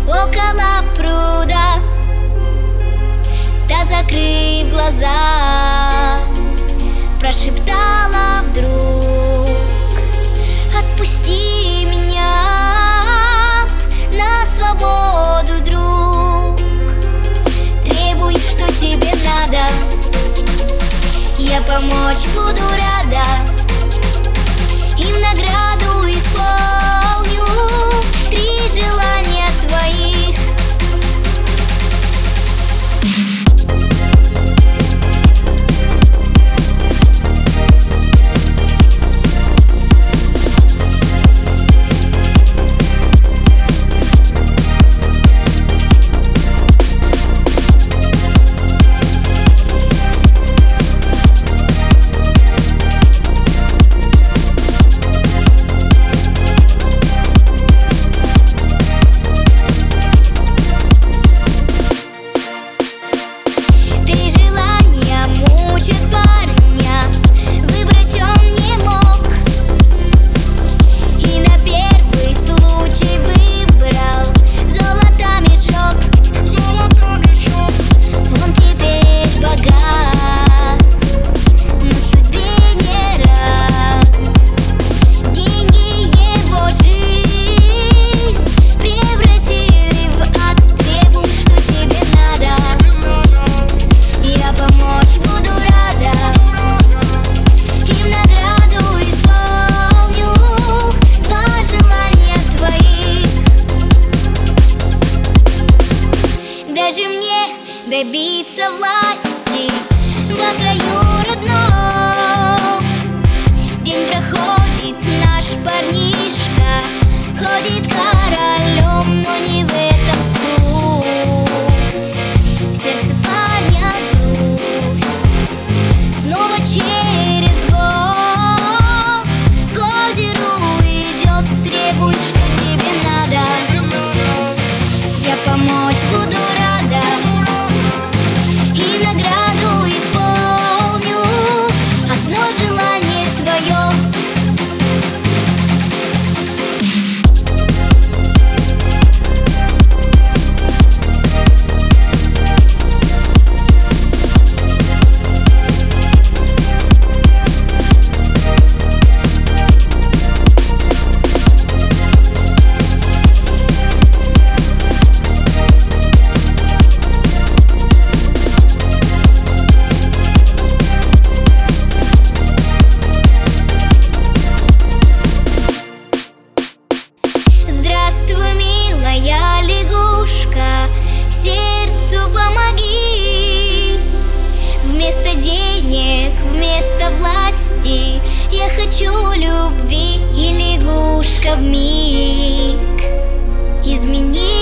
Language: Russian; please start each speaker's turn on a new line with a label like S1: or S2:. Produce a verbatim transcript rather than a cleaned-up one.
S1: около пруда. Та, закрыв глаза, прошептала вдруг: отпусти меня на свободу, друг. Требуй, что тебе надо, я помочь буду рада, и в награду исполню три желания твоих. Даже мне добиться власти во краю родном. День проходит, наш парнишка ходит королем, но не в этом суть. В сердце парня грусть. Снова через год к озеру идет. Требуй, что тебе надо, я помочь буду рада, и награду исполню одно желание твое. Здравствуй, милая лягушка, сердцу помоги. Вместо денег, вместо власти я хочу любви, и лягушка вмиг измени.